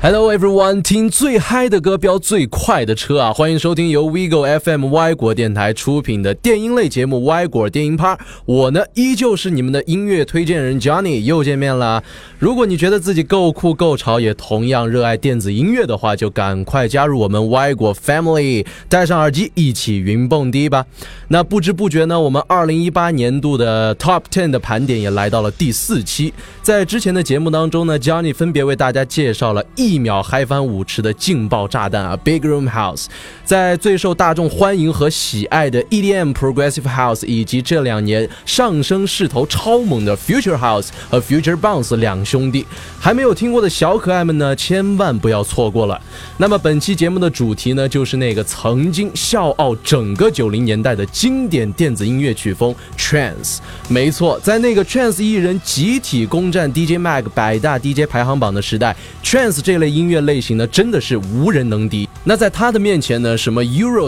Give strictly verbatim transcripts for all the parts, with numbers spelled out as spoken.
Hello everyone， 听最嗨的歌飙最快的车啊！欢迎收听由 Vigo F M 歪果电台出品的电音类节目歪果电音趴。我呢依旧是你们的音乐推荐人 Johnny， 又见面啦。如果你觉得自己够酷够潮，也同样热爱电子音乐的话，就赶快加入我们歪果 Family， 戴上耳机一起云蹦迪吧。那不知不觉呢，我们二零一八年度的 Top 十 的盘点也来到了第四期。在之前的节目当中呢 ，Johnny 分别为大家介绍了一秒嗨翻舞池的劲爆炸弹啊 ，Big Room House， 在最受大众欢迎和喜爱的 E D M、Progressive House， 以及这两年上升势头超猛的 Future House 和 Future Bounce 两兄弟，还没有听过的小可爱们呢，千万不要错过了。那么本期节目的主题呢，就是那个曾经笑傲整个九零年代的经典电子音乐曲风 Trance。没错，在那个 Trance 艺人集体攻占 D J Mag 百大 D J 排行榜的时代 ，Trance 这类音乐类型呢，真的是无人能敌。那在他的面前呢，什么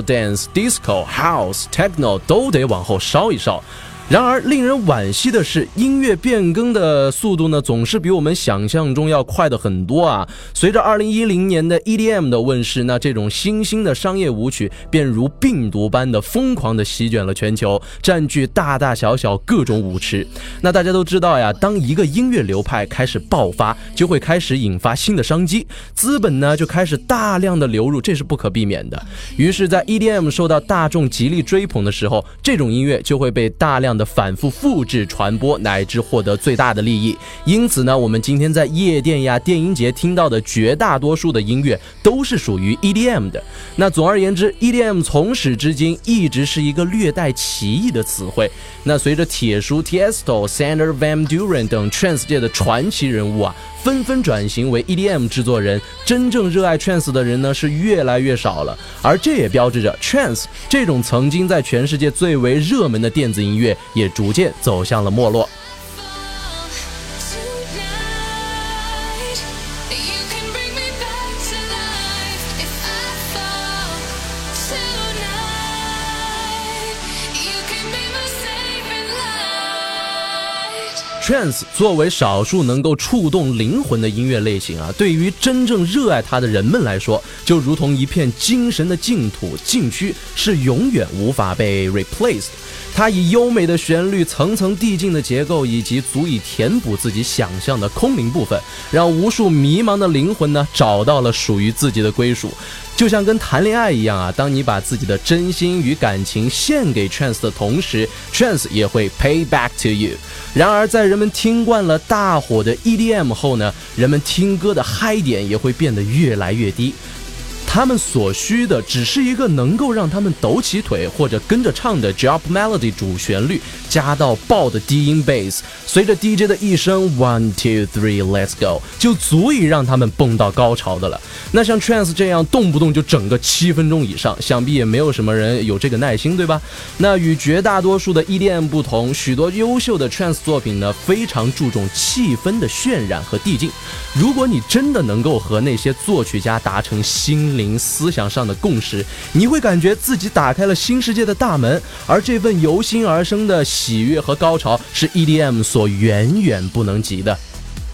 Eurodance、Disco、House、Techno 都得往后稍一稍。然而令人惋惜的是，音乐变更的速度呢，总是比我们想象中要快的很多啊。随着二零一零年的 E D M 的问世，那这种新兴的商业舞曲便如病毒般的疯狂的席卷了全球，占据大大小小各种舞池。那大家都知道呀，当一个音乐流派开始爆发，就会开始引发新的商机，资本呢就开始大量的流入，这是不可避免的。于是在 E D M 受到大众极力追捧的时候，这种音乐就会被大量的反复复制传播，乃至获得最大的利益。因此呢，我们今天在夜店呀、电音节听到的绝大多数的音乐都是属于 E D M 的。那总而言之 ，E D M 从始至今一直是一个略带歧义的词汇。那随着铁叔 Tiesto、Sander Van Doren 等 Trance 界的传奇人物啊，纷纷转型为 E D M 制作人，真正热爱 Trance 的人呢是越来越少了。而这也标志着 Trance 这种曾经在全世界最为热门的电子音乐也逐渐走向了没落。Trance 作为少数能够触动灵魂的音乐类型啊，对于真正热爱它的人们来说，就如同一片精神的净土禁区，是永远无法被 replaced。它以优美的旋律、层层递进的结构，以及足以填补自己想象的空灵部分，让无数迷茫的灵魂呢找到了属于自己的归属。就像跟谈恋爱一样啊，当你把自己的真心与感情献给 Trance 的同时， Trance 也会 pay back to you。 然而在人们听惯了大火的 E D M 后呢，人们听歌的嗨点也会变得越来越低。他们所需的只是一个能够让他们抖起腿或者跟着唱的 drop melody 主旋律，加到爆的低音 bass， 随着 D J 的一声 one two three let's go 就足以让他们蹦到高潮的了。那像 Trance 这样动不动就整个七分钟以上，想必也没有什么人有这个耐心，对吧？那与绝大多数的 E D M 不同，许多优秀的 Trance 作品呢，非常注重气氛的渲染和递进。如果你真的能够和那些作曲家达成心灵思想上的共识，你会感觉自己打开了新世界的大门，而这份由心而生的喜悦和高潮是 E D M 所远远不能及的。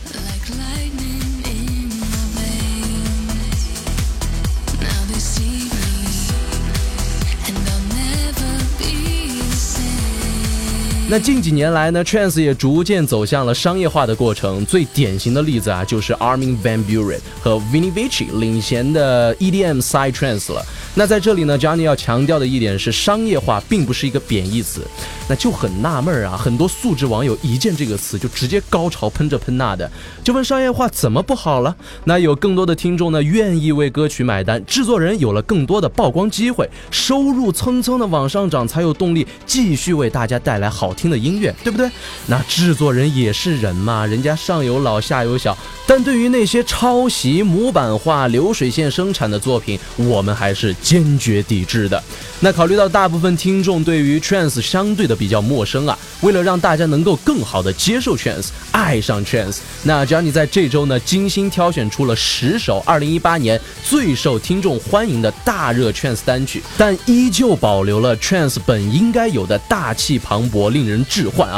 那近几年来呢 Trance 也逐渐走向了商业化的过程，最典型的例子啊，就是 Armin van Buuren 和 Vini Vici 领衔的 E D M Psy Trance 了。那在这里呢 Johnny 要强调的一点是，商业化并不是一个贬义词。那就很纳闷啊，很多素质网友一见这个词就直接高潮喷这喷那的，就问商业化怎么不好了？那有更多的听众呢愿意为歌曲买单，制作人有了更多的曝光机会，收入蹭蹭的往上涨，才有动力继续为大家带来好听的音乐，对不对？那制作人也是人嘛，人家上有老下有小，但对于那些抄袭、模板化、流水线生产的作品，我们还是坚决抵制的。那考虑到大部分听众对于 Trance 相对的比较陌生啊，为了让大家能够更好的接受 Trance、爱上 Trance， 那 Johnny 在这周呢精心挑选出了十首二零一八年最受听众欢迎的大热 Trance 单曲，但依旧保留了 Trance 本应该有的大气磅礴、令人置换啊。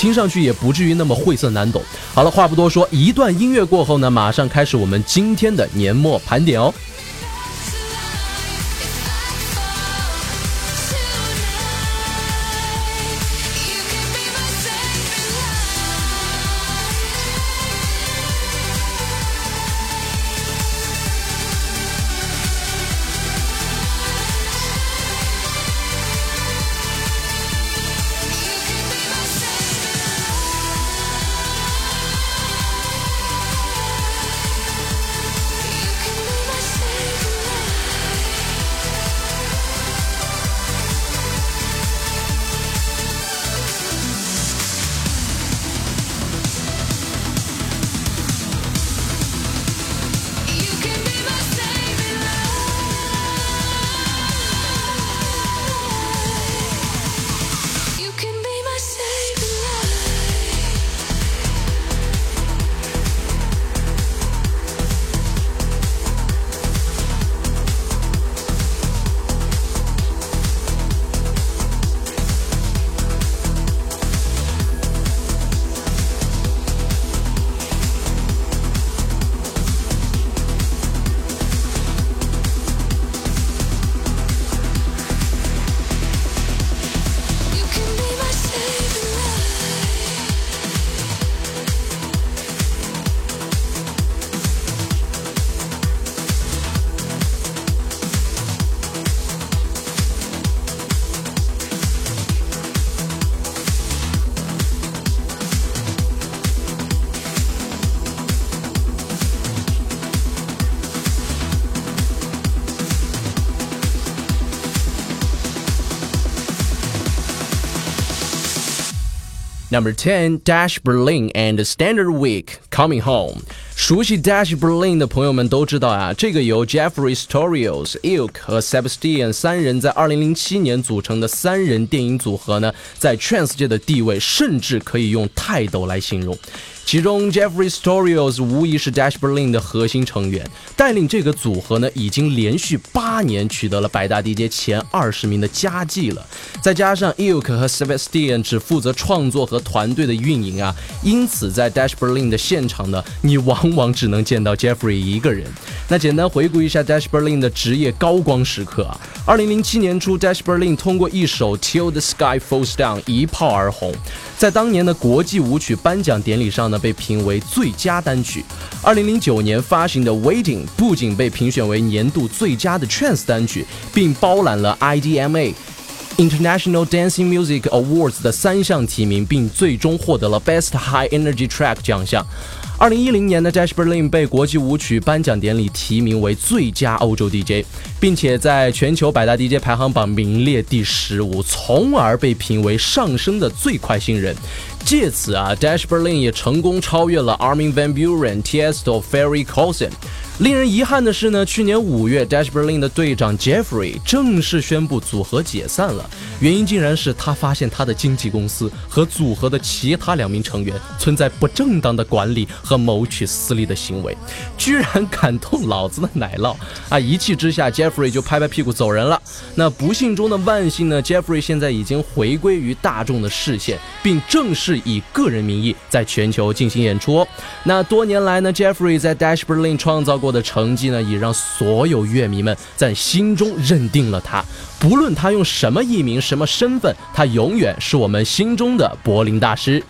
听上去也不至于那么晦涩难懂。好了，话不多说，一段音乐过后呢，马上开始我们今天的年末盘点哦。Number ten, Dash Berlin and Standard Week Coming Home。 熟悉 Dash Berlin 的朋友们都知道啊，这个由 Jeffrey Storios、Ilk 和 Sebastian 三人在二零零七年组成的三人电影组合呢，在 Trance 界的地位甚至可以用泰斗来形容。其中 Jeffrey Storios 无疑是 Dash Berlin 的核心成员，带领这个组合呢，已经连续八年取得了百大 D J 前二十名的佳绩了。再加上 Ilk 和 Sebastian 只负责创作和团队的运营啊，因此在 Dash Berlin 的现场呢，你往往只能见到 Jeffrey 一个人。那简单回顾一下 Dash Berlin 的职业高光时刻啊，二零零七年初 Dash Berlin 通过一首 Till the Sky Falls Down 一炮而红，在当年的国际舞曲颁奖典礼上呢，被评为最佳单曲。二零零九年发行的 Waiting 不仅被评选为年度最佳的 Trance 单曲，并包揽了 I D M A International Dancing Music Awards 的三项提名，并最终获得了 Best High Energy Track 奖项。二零一零年的 Dash Berlin 被国际舞曲颁奖典礼提名为最佳欧洲 D J， 并且在全球百大 D J 排行榜名列第十五，从而被评为上升的最快新人。借此啊 Dash Berlin 也成功超越了 Armin van Buuren、Tiesto、Ferry Corsten。令人遗憾的是呢，去年五月 Dash Berlin 的队长 Jeffrey 正式宣布组合解散了，原因竟然是他发现他的经纪公司和组合的其他两名成员存在不正当的管理和谋取私利的行为，居然敢动老子的奶酪啊！一气之下 Jeffrey 就拍拍屁股走人了。那不幸中的万幸呢， Jeffrey 现在已经回归于大众的视线，并正式以个人名义在全球进行演出哦。那多年来呢， Jeffrey 在 Dash Berlin 创造过的成绩呢，也让所有乐迷们在心中认定了他。不论他用什么艺名、什么身份，他永远是我们心中的柏林大师。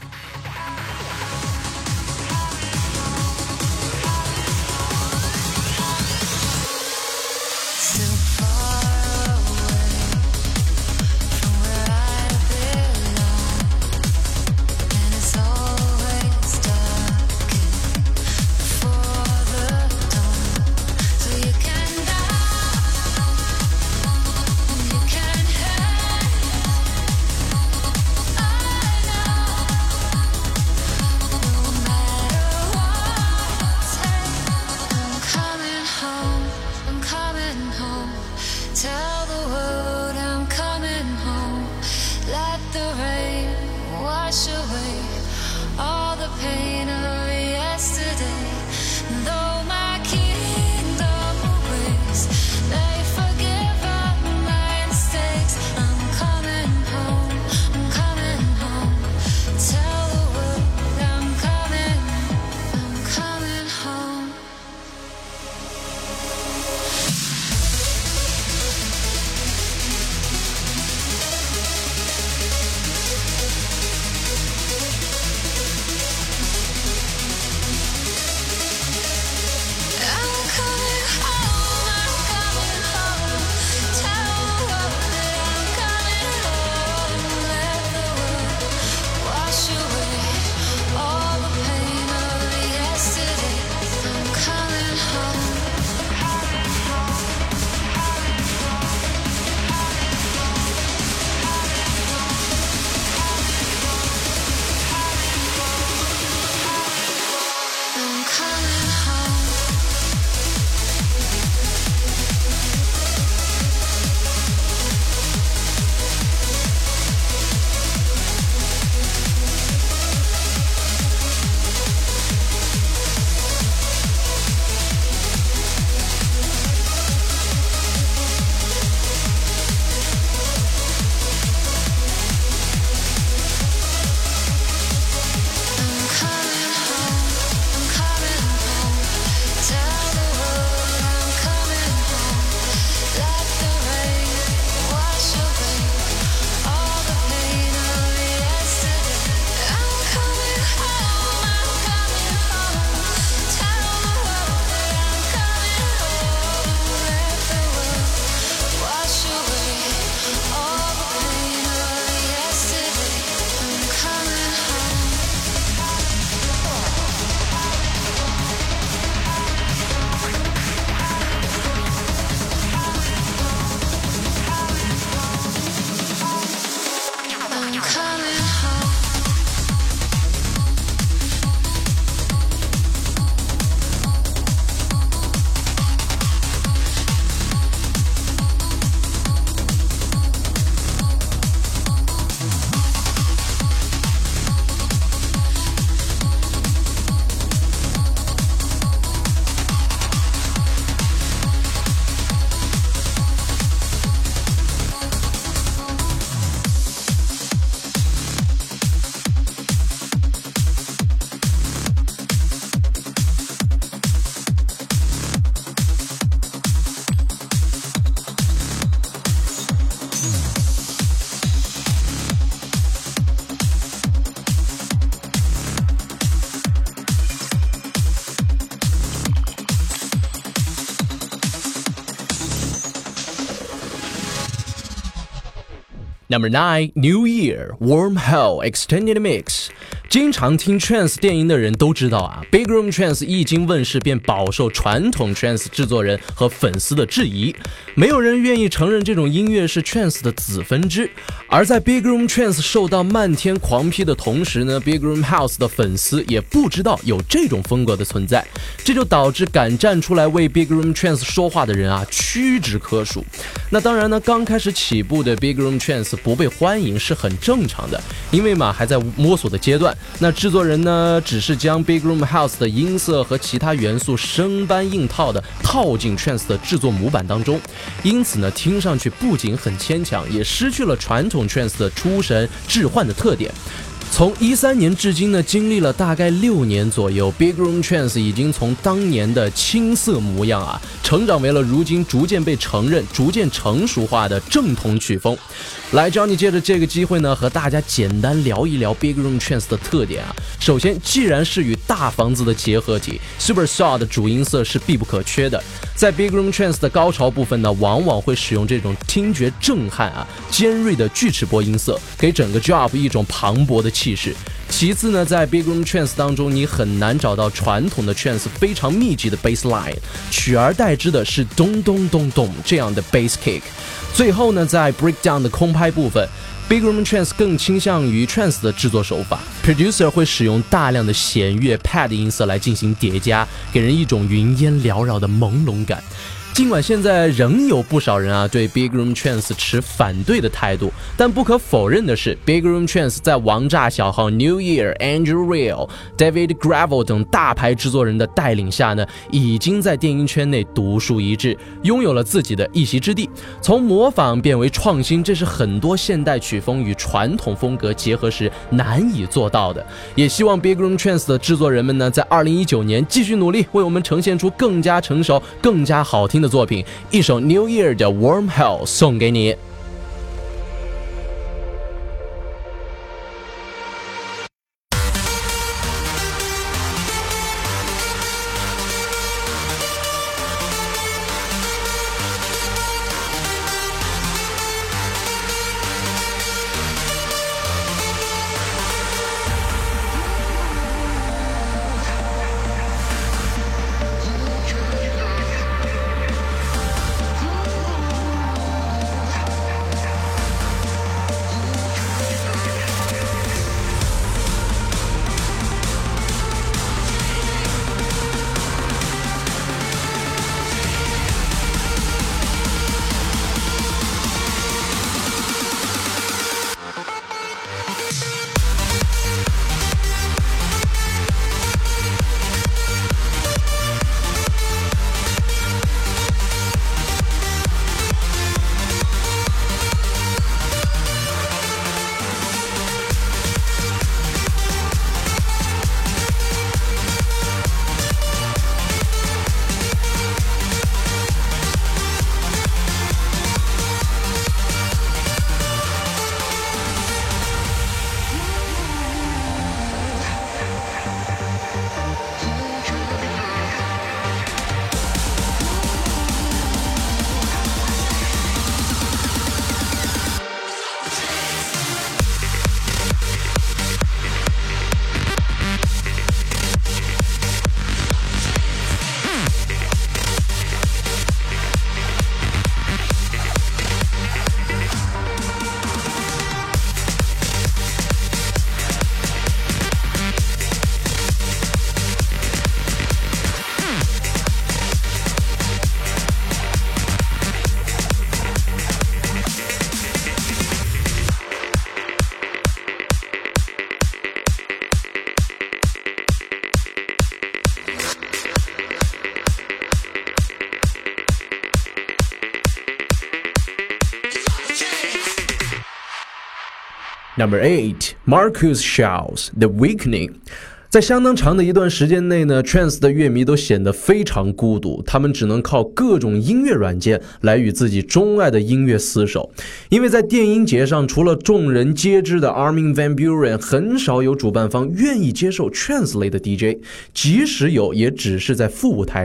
Number nine, New Year, Warm Hell, Extended Mix。经常听 Trance 电音的人都知道啊 ，Big Room Trance 一经问世便饱受传统 Trance 制作人和粉丝的质疑，没有人愿意承认这种音乐是 Trance 的子分支。而在 Big Room Trance 受到漫天狂批的同时呢 ，Big Room House 的粉丝也不知道有这种风格的存在，这就导致敢站出来为 Big Room Trance 说话的人啊屈指可数。那当然呢，刚开始起步的 Big Room Trance 不被欢迎是很正常的，因为嘛还在摸索的阶段。那制作人呢，只是将 Big Room House 的音色和其他元素生搬硬套的套进 Trance 的制作模板当中，因此呢，听上去不仅很牵强，也失去了传统 Trance 的出神置换的特点。从一三年至今呢，经历了大概六年左右 ，Big Room Trance 已经从当年的青涩模样啊，成长为了如今逐渐被承认、逐渐成熟化的正统曲风。来 ，Johnny 借着这个机会呢，和大家简单聊一聊 Big Room Trance 的特点啊。首先，既然是与大房子的结合体 ，Super Saw 的主音色是必不可缺的。在 Big Room Trance 的高潮部分呢，往往会使用这种听觉震撼啊、尖锐的锯齿波音色，给整个 job 一种磅礴的气势。其次呢，在 Big Room Trance 当中，你很难找到传统的 Trance 非常密集的 bass line， 取而代之的是咚咚咚咚这样的 bass kick。最后呢，在 breakdown 的空拍部分， Big Room Trance 更倾向于 Trance 的制作手法 ，Producer 会使用大量的弦乐 pad 音色来进行叠加，给人一种云烟缭绕的朦胧感。尽管现在仍有不少人啊对 Big Room Trance 持反对的态度，但不可否认的是 Big Room Trance 在王炸小号 New Year、Andrew Rayel、David Gravel 等大牌制作人的带领下呢，已经在电音圈内独树一帜，拥有了自己的一席之地。从模仿变为创新，这是很多现代曲风与传统风格结合时难以做到的。也希望 Big Room Trance 的制作人们呢，在二零一九年继续努力，为我们呈现出更加成熟、更加好听的作品。一首 New Year 的 Warm Hell 送给你。Number eight, Marcus Shouts, The Weakening。在相当长的一段时间内呢 Trance 的乐迷都显得非常孤独，他们只能靠各种音乐软件来与自己钟爱的音乐厮守。因为在电音节上，除了众人皆知的 Armin van Buuren， 很少有主办方愿意接受 Trance 类的 D J， 即使有也只是在副舞台上。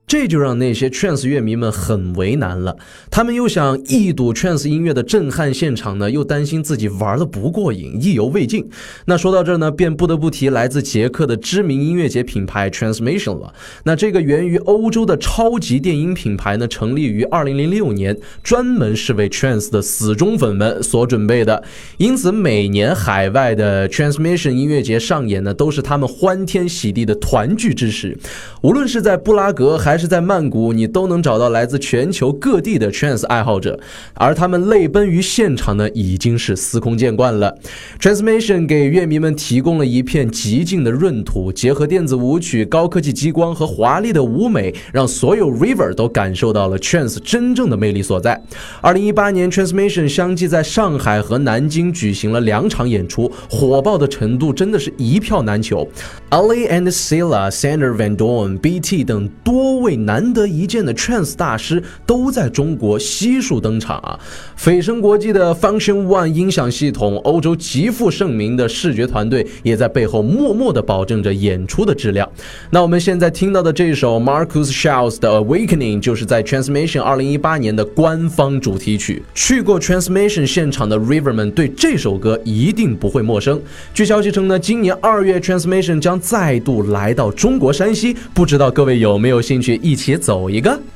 这就让那些 trance 乐迷们很为难了，他们又想一睹 trance 音乐的震撼现场呢，又担心自己玩得不过瘾，意犹未尽。那说到这儿呢，便不得不提来自捷克的知名音乐节品牌 Transmission 了。那这个源于欧洲的超级电音品牌呢，成立于二零零六年，专门是为 trance 的死忠粉们所准备的。因此每年海外的 Transmission 音乐节上演呢，都是他们欢天喜地的团聚之时。无论是在布拉格还是在曼谷，你都能找到来自全球各地的 trance 爱好者，而他们泪奔于现场呢，已经是司空见惯了。 Transmission 给乐迷们提供了一片极静的闰土，结合电子舞曲、高科技激光和华丽的舞美，让所有 River 都感受到了 trance 真正的魅力所在。二零一八年 Transmission 相继在上海和南京举行了两场演出，火爆的程度真的是一票难求。 Ali and Silla、Sander Van Doorn、B T 等多位难得一见的 trance 大师都在中国悉数登场啊！蜚声国际的 Function One 音响系统，欧洲极负盛名的视觉团队也在背后默默地保证着演出的质量。那我们现在听到的这首 Marcus Schulz 的 Awakening 就是在 Transmission 二零一八年的官方主题曲。去过 Transmission 现场的 River 们对这首歌一定不会陌生。据消息称呢，今年二月 Transmission 将再度来到中国山西，不知道各位有没有兴趣一起走一个？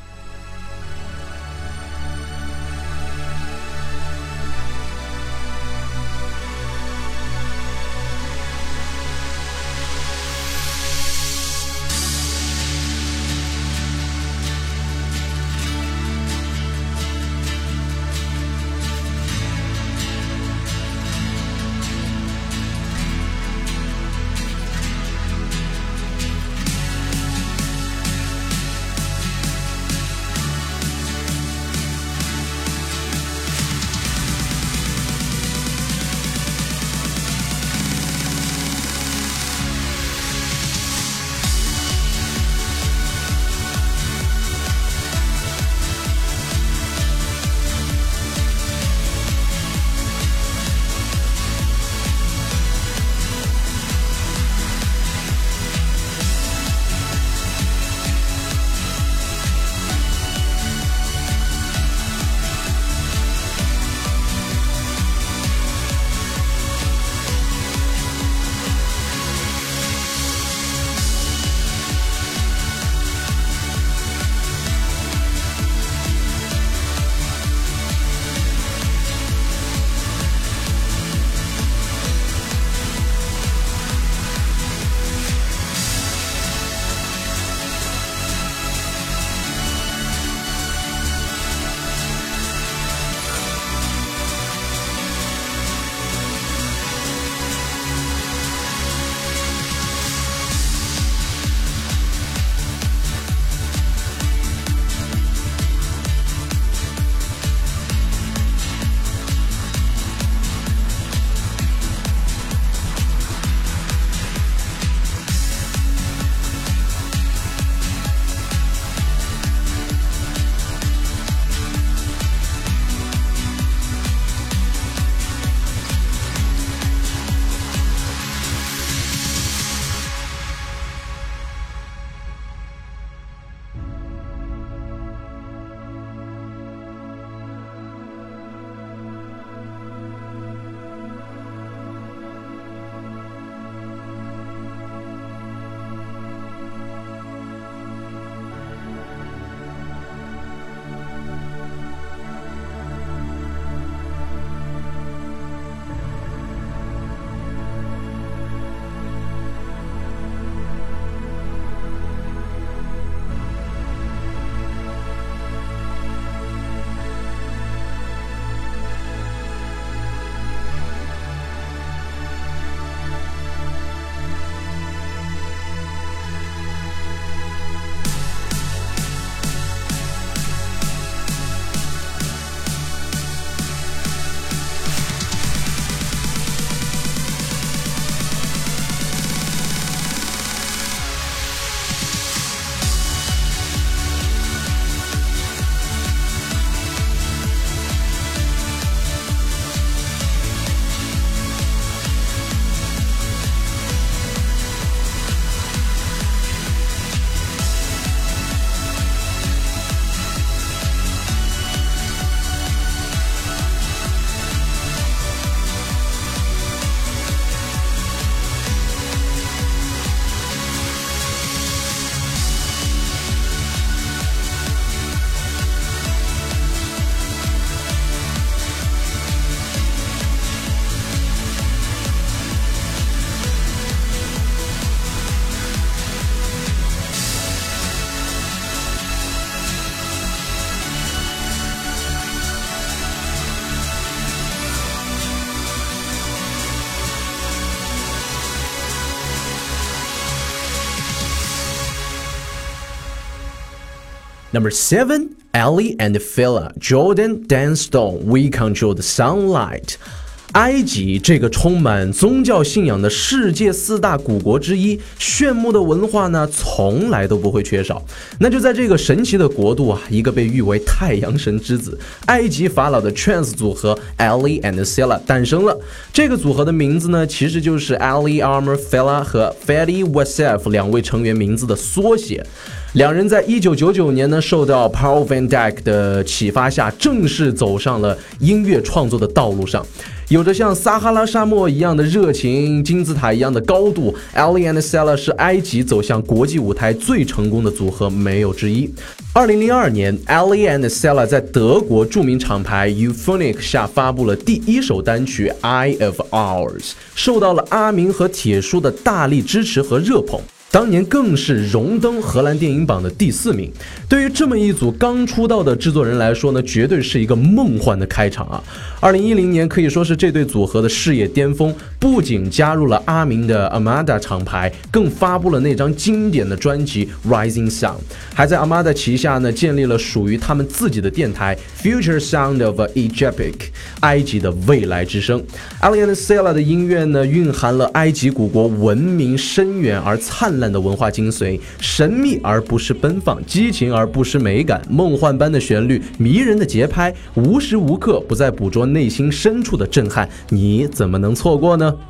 Number seven, Ally and Fila, Jordan, Dan Stone, We Control the Sunlight。埃及这个充满宗教信仰的世界四大古国之一，炫目的文化呢，从来都不会缺少。那就在这个神奇的国度啊，一个被誉为太阳神之子，埃及法老的 trance 组合 Ally and Fila 诞生了。这个组合的名字呢，其实就是 Ali Amr Fila 和 Fadi Wassef 两位成员名字的缩写。两人在一九九九年呢，受到 Paul Van Dyk 的启发下，正式走上了音乐创作的道路上。有着像撒哈拉沙漠一样的热情，金字塔一样的高度， Ally and Fila 是埃及走向国际舞台最成功的组合，没有之一。二零零二年 Ally and Fila 在德国著名厂牌 Euphonic 下发布了第一首单曲 Eye of Ours， 受到了阿明和铁叔的大力支持和热捧，当年更是荣登荷兰电影榜的第四名。对于这么一组刚出道的制作人来说呢，绝对是一个梦幻的开场啊！二零一零年可以说是这对组合的事业巅峰，不仅加入了阿明的 Armada 厂牌，更发布了那张经典的专辑 Rising Sun， 还在 Armada 旗下呢建立了属于他们自己的电台 Future Sound of Egypt， 埃及的未来之声。Ally and Fila 的音乐呢，蕴含了埃及古国文明深远而灿烂的文化精髓，神秘而不是奔放，激情而不失美感，梦幻般的旋律，迷人的节拍，无时无刻不在捕捉内心深处的震撼，你怎么能错过呢？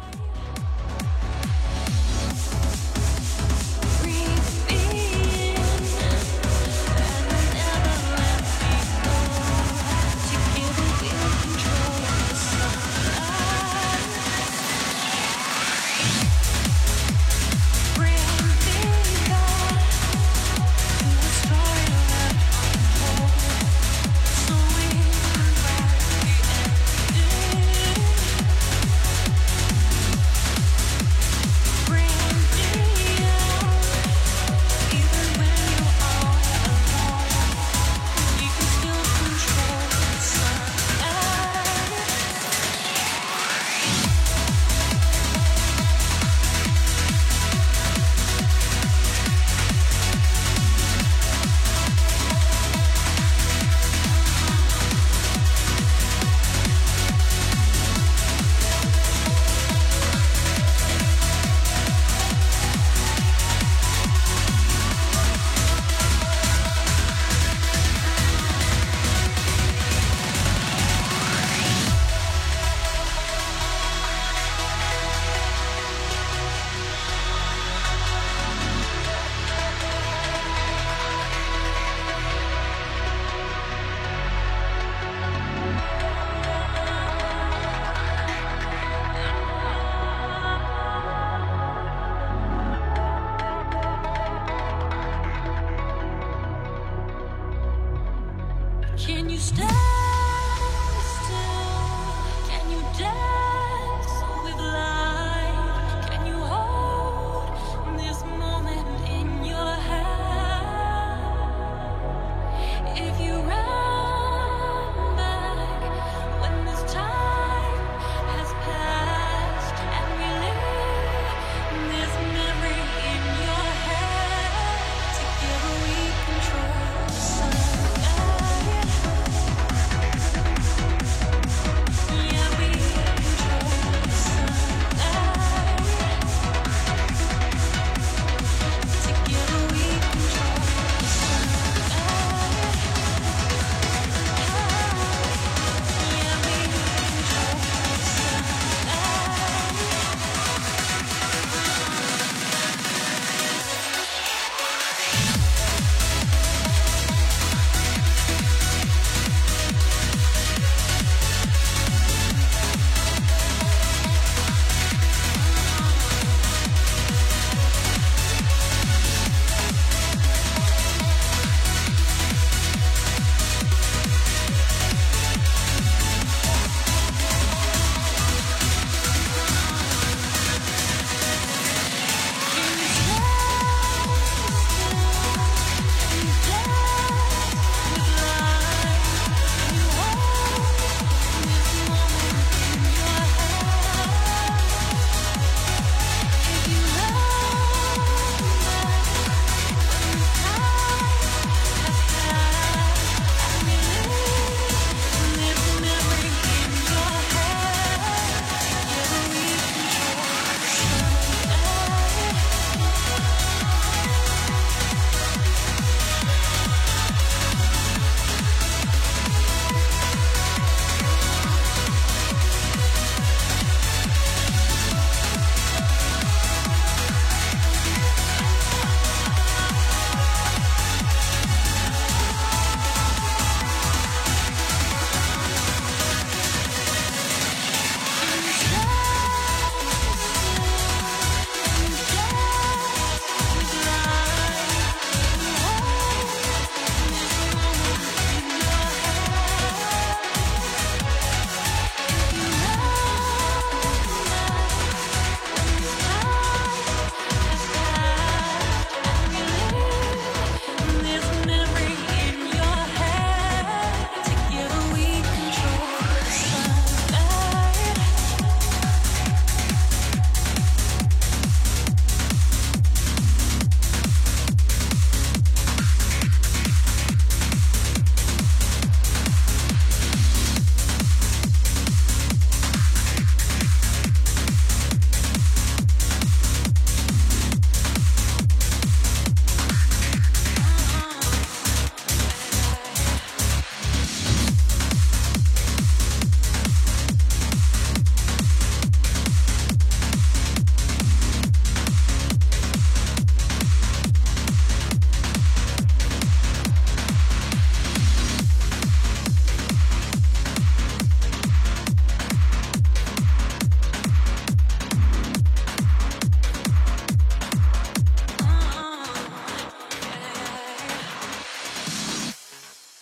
Can you stand still? Can you dance with light? Can you hold this moment in your hand? If you run back when this time has passed and relive this memory in your head, together we control the sun.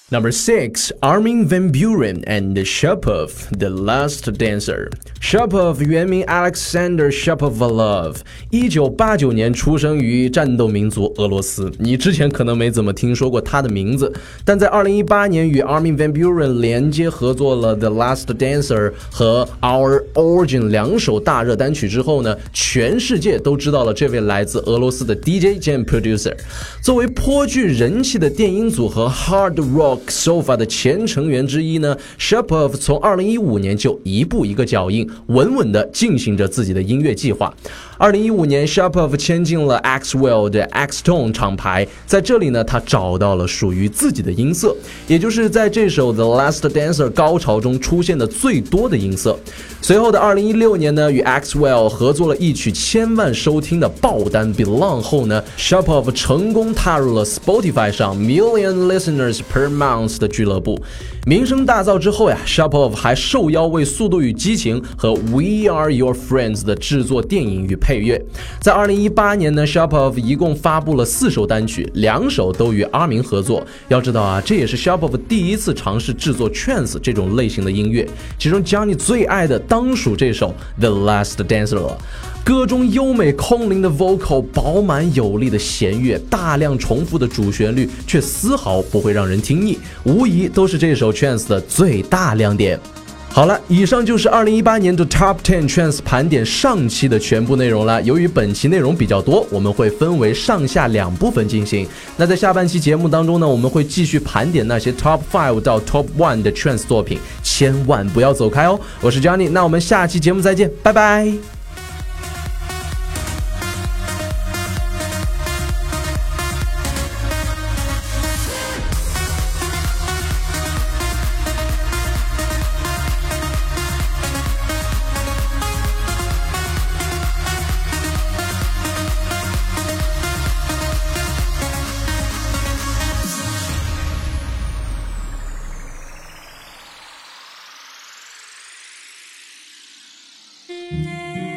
Number six, Armin van Buuren and Shapov, The Last Dancer. Shapov 原名 Alexander Shapovalov， 一九八九年出生于战斗民族俄罗斯。你之前可能没怎么听说过他的名字，但在二零一八年与 Armin van Buuren 连接合作了 The Last Dancer 和 Our Origin 两首大热单曲之后呢，全世界都知道了这位来自俄罗斯的 D J 兼 producer。作为颇具人气的电音组合 Hard Rock Sofa 的前成员之一呢， Shapov 从二零一五年就一步一个脚印，稳稳地进行着自己的音乐计划。二零一五年 Shapov 签进了 Axwell 的 X-Tone 厂牌，在这里呢，他找到了属于自己的音色，也就是在这首 The Last Dancer 高潮中出现的最多的音色。随后的二零一六年呢，与 Axwell 合作了一曲千万收听的爆单 Belong 后呢， Shapov 成功踏入了 Spotify 上 Million Listeners Per Month 的俱乐部。名声大噪之后呀， Shapov 还受邀为《速度与激情》和 We Are Your Friends 的制作电影与配乐。在二零一八年呢， Shapov 一共发布了四首单曲，两首都与阿明合作。要知道啊，这也是 Shapov 第一次尝试制作 Trance 这种类型的音乐，其中 Johnny 最爱的当属这首 The Last Dancer 了。歌中优美空灵的 vocal， 饱满有力的弦乐，大量重复的主旋律，却丝毫不会让人听腻，无疑都是这首 Trance 的最大亮点。好了，以上就是二零一八年的 Top 十 Trance 盘点上期的全部内容了。由于本期内容比较多，我们会分为上下两部分进行。那在下半期节目当中呢，我们会继续盘点那些 Top 五到 Top 一的 Trance 作品，千万不要走开哦。我是 Johnny， 那我们下期节目再见，拜拜。 Thank you.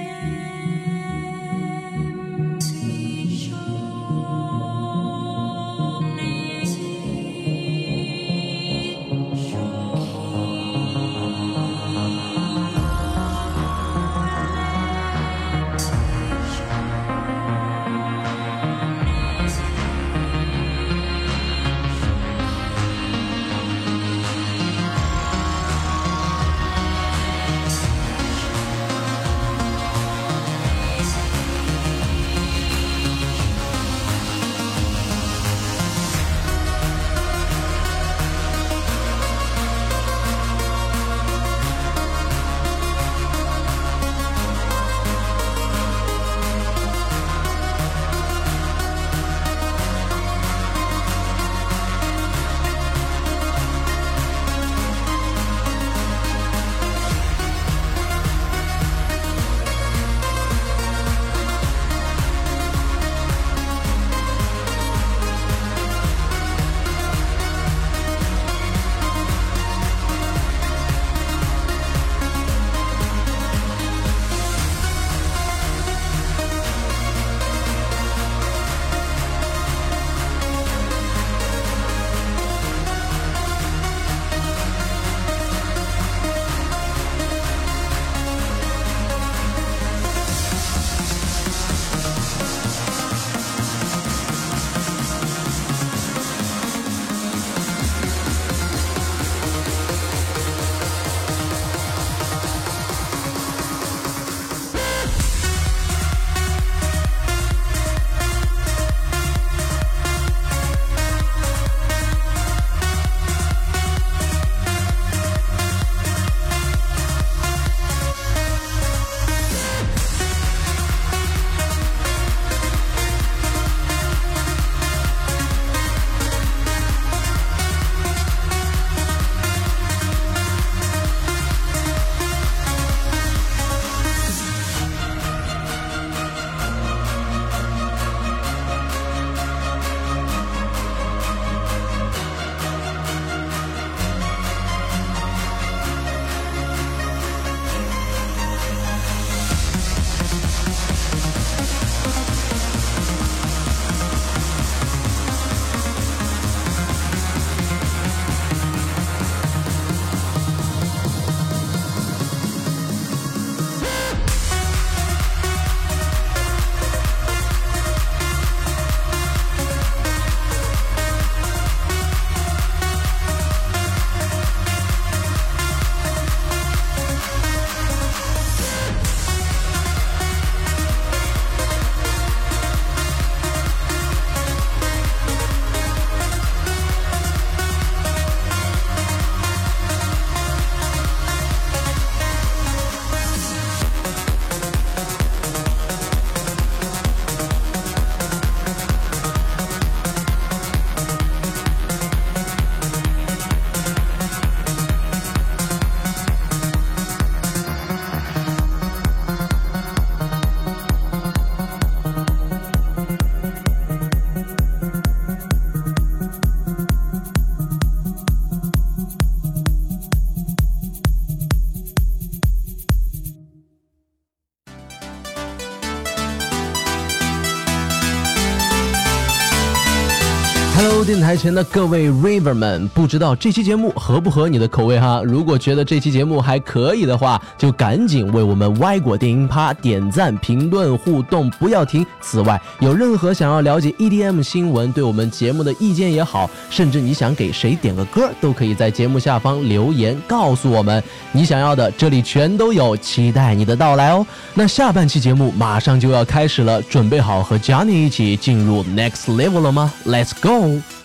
电台前的各位 River 们，不知道这期节目合不合你的口味哈？如果觉得这期节目还可以的话，就赶紧为我们歪果电音趴点赞、评论、互动，不要停。此外，有任何想要了解 E D M 新闻、对我们节目的意见也好，甚至你想给谁点个歌，都可以在节目下方留言告诉我们。你想要的，这里全都有，期待你的到来哦。那下半期节目马上就要开始了，准备好和 Johnny 一起进入 Next Level 了吗？Let's go！